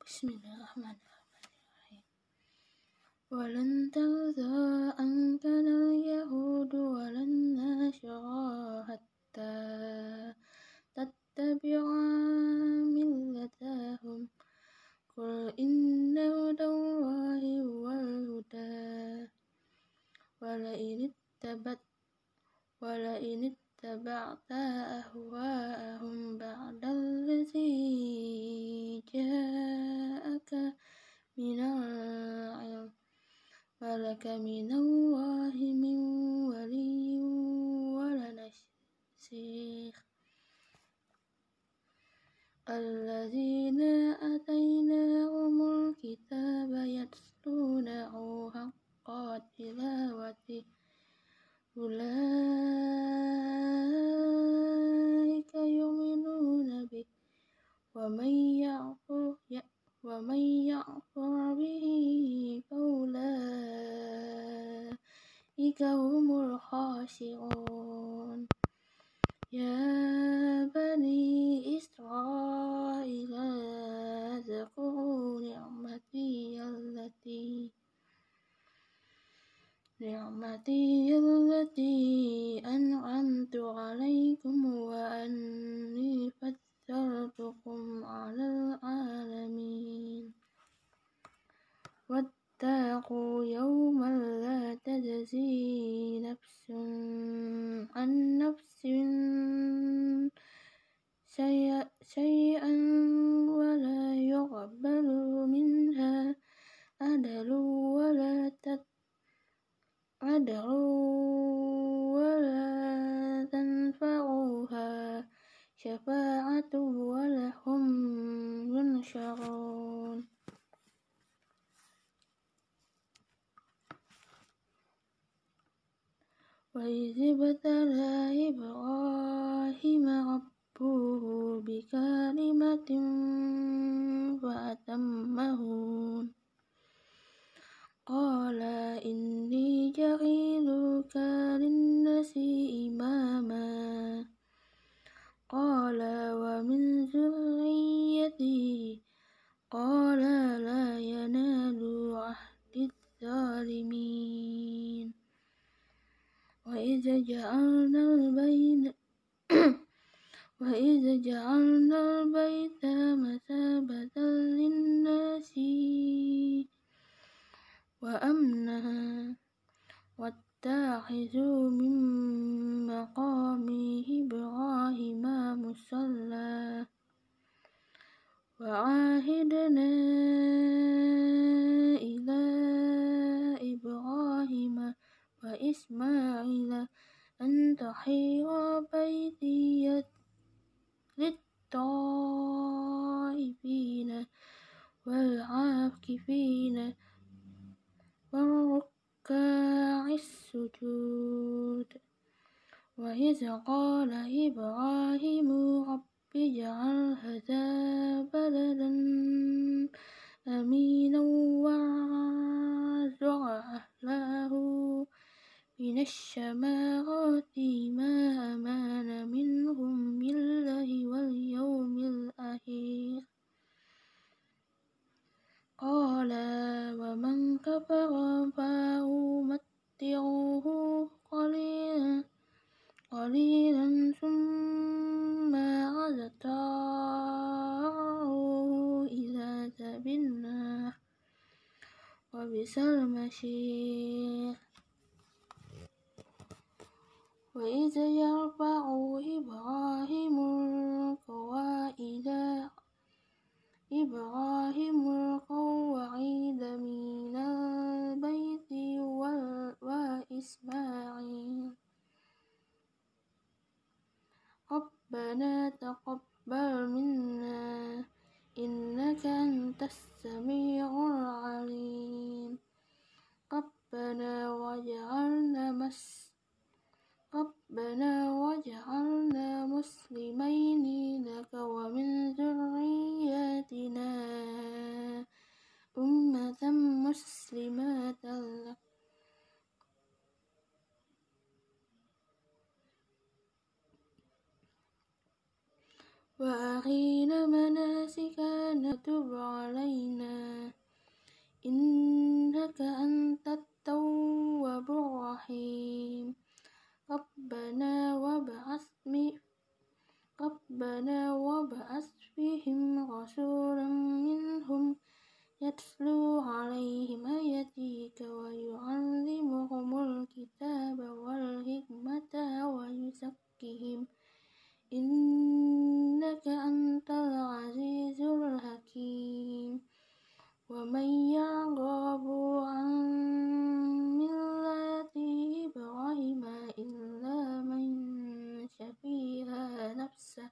Bismillahirrahmanirrahim. Walan tarda anka al-yahud walan nasara hatta tattabi'a millatahum. Qul inna hudallahi wal huda wala in ittaba'ta ahwa'ahum ba'dallazi ja'aka minal ilm malaka minallahi min waliyyin wala nasir. Alladzina atainahumul kitaba yatlunahu haqqa tilawati ulaika yu'minuna bih wa man ya'fur bihi faulaika humul khasirun. Ya bani Israil zkuru ni'mati allati an'amtu 'alaikum wa anni faddaltukum 'alal 'alamin. Wattaqu yawman la tajzi nafsun an nafsin syai'an wa la yuqbalu minha adlun wa la tanfa'uha syafa'atu wa lahum yunsharun. Wa idh ibtala Ibrahima rabbuhu bikalimatin fa'atammahun. Qala inni ja'iluka linnasi imama. Qala wa min zurriyyati. Qala la yanalu ahdi zalimin. Wa idza ja'alna al-baita masabatan linnasi wa amna wattakhidhu min maqami Ibrahima musalla wa ahidna ila Ibrahima wa Ismaila an tahira baitiya lit-ta'ifina wal-'akifina waruka'is sujud. Wa idh qala Ibrahimu rabbi ij'al hadha baladan aminan warzuq ahlahu minasy samarati ma amana minhum billahi wal yawmil akhir. Qala wa man kafara fa umatti'uhu qalilan thumma adtarruhu ila adhabin-nar wa bisal mashir. Wa idza yarfa'u Ibrahimul qawa'ida minal baiti wa Ismail. Rabbana taqabbal minna innaka antas sami'ul 'alim. Rabbana waj'alna muslimaini laka wa min dzurriyyatina ummatan muslimatan lak wa arina manasikana tub 'alaina ربنا وابعث فيهم رسولا منهم يتلو عليهم آياتك ويعلمهم الكتاب والحكمة ويزكيهم إنك أنت العزيز الحكيم ومن يرغب عن ملة إبراهيم إلا من شفيها نفسه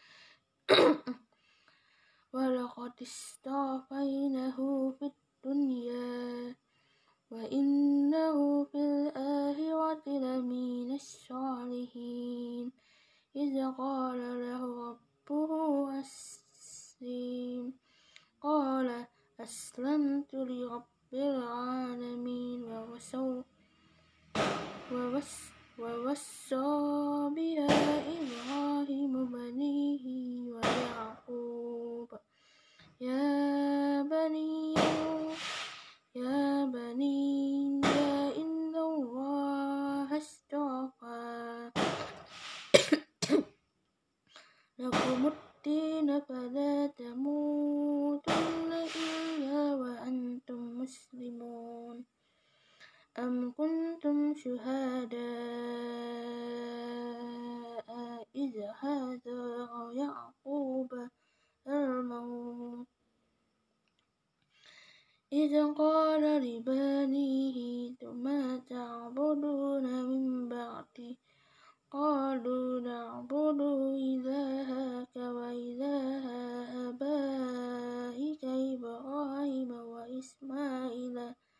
ولقد اصطفيناه في الدنيا وإنه في الآخرة لمن الصالحين إذ قال له ربه أسلم قال أسلمت لرب العالمين ووصى بها إبراهيم بنيه ويعقوب يا بني إن الله اصطفى لكم الدين فلا تموتن إلا وأنتم مسلمون أم كنتم شهداء إذ حضر يعقوب الموت إذ قال لبنيه ما تعبدون من بعدي قالوا نعبد إلهك وإله آبائك إبراهيم وإسماعيل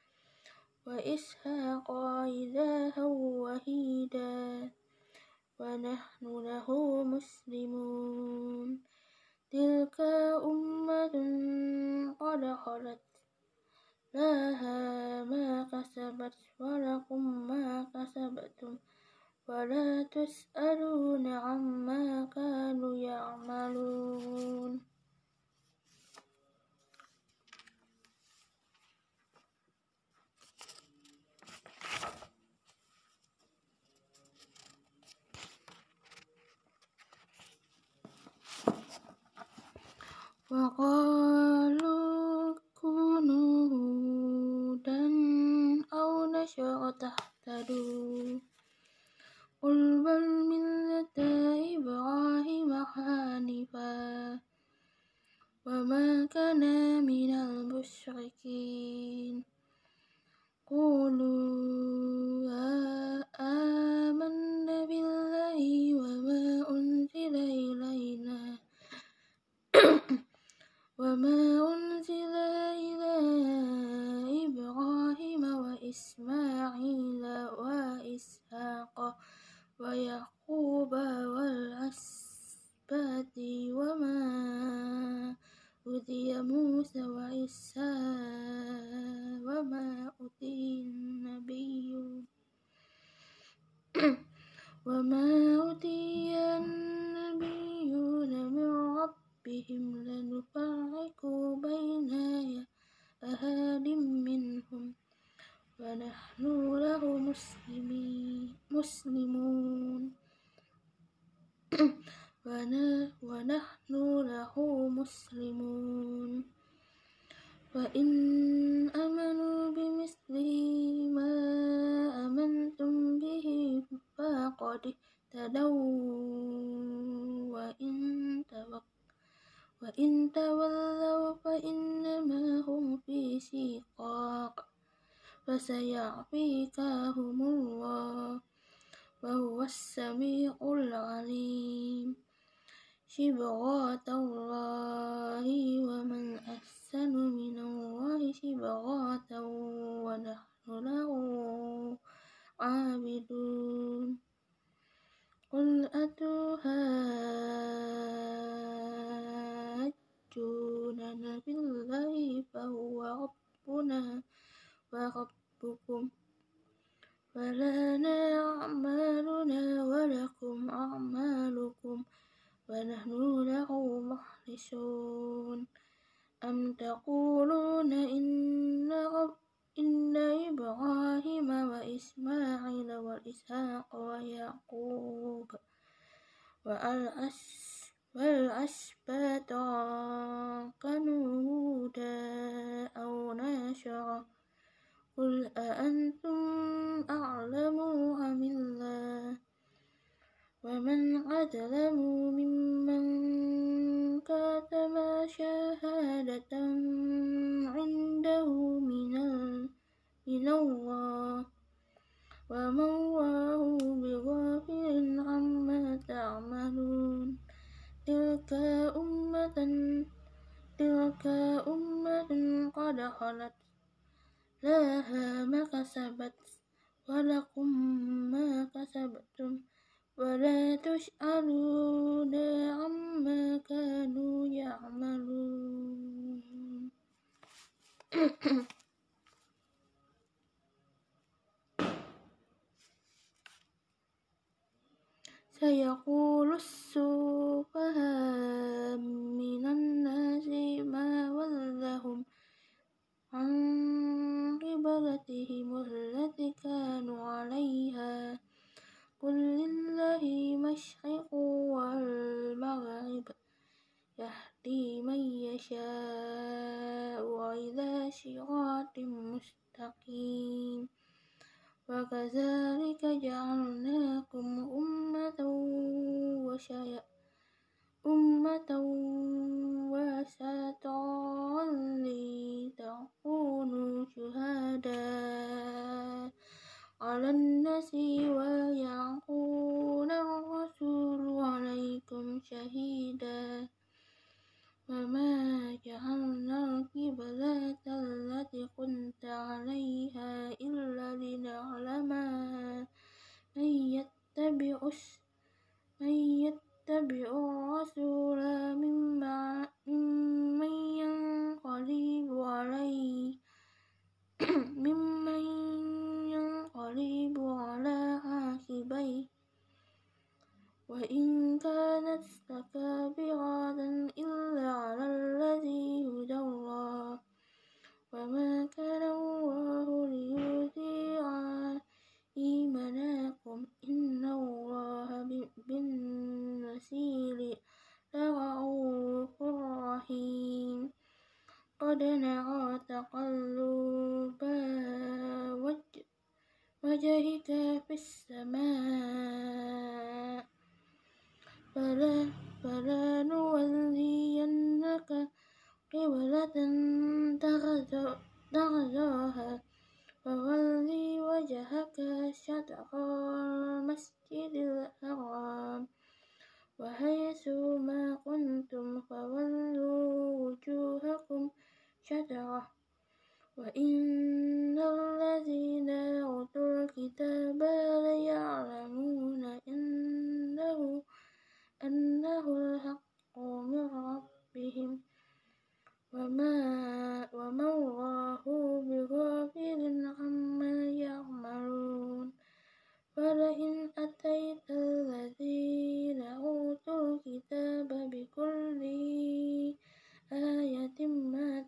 وإسحاق إلها وحيدا ونحن له مسلمون تلك أمة قد خلت لها ما كسبت ولكم ما كسبتم ولا تسألون عما كانوا يعملون وقالوا كونوا هودا أو نصارى تهتدوا قل بل ملة إبراهيم حنيفا وما كان من المشركين قولوا آمنا بالله وما أنزل إلى إبراهيم وإسماعيل وإسحاق ويعقوب والأسباط وما أوتي موسى وعيسى وما أوتي النبيون من ربهم لنفرق بين أحد منهم ونحن له مسلمون ونحن له مسلمون وإن آمنوا بمثل ما آمنتم به فقد اهتدوا وإن تولوا فإنما هم في شقاق فسيعفيكهم الله وهو السميع العليم صبغة الله ومن أحسن من الله صبغة ونحن له عابدون قل أتحاجوننا في الله فهو ربنا وربكم ولنا أعمالنا ولكم أعمالكم ونحن له مخلصون أم تقولون إن إبراهيم وإسماعيل وإسحاق ويعقوب والأسباط كانوا هودا أو نصارى قل أأنتم أعلم أم الله ومن أظلم ممن كتم شهادة عنده من الله وما الله بغافل عما تعملون تلك أمة قد خلت لها ما كسبت ولكم ما كسبتم ولا تسألون عما كانوا يعملون. سيقول السفهاء من الناس ما ولاهم عن قبلتهم التي كانوا عليها قل لله المشرق والمغرب يهدي من يشاء إلى صراط مستقيم وكذلك جعلناكم أمة وسطا لتكونوا شهداء على الناس ويكون الرسول عليكم شهيدا وما جعلنا القبلة التي كنت عليها إلا لنعلم من يتبع الرسول ممن ينقلب على عقبيه وإن كانت لكبيرة إلا على الذين هدى الله وما كان الله ليضيع إيمانكم إن الله بالناس لرءوف رحيم قد نرى تقلب وجهك في السماء فلنولينك قبلة ترضاها فول وجهك شطر المسجد الحرام وحيث ما كنتم فولوا وجوهكم شطره وإن الذين أوتوا الكتاب ليعلمون أنه الحق من ربهم وما الله بغافل عما يعملون ولئن أتيت الذين أوتوا الكتاب بكل آية ما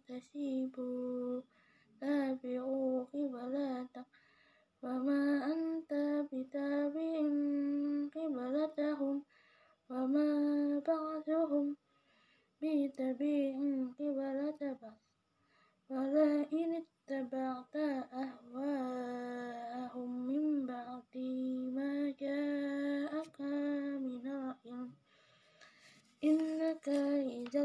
تابعوا قبلتك وما أنت بتابع قبلتهم وما بعضهم بتابع قبلة بعض ولئن اتبعت أهواءهم من بعد ما جاءك من العلم إنك إذا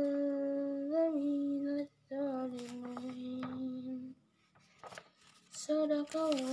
لمن الظالمين صدق الله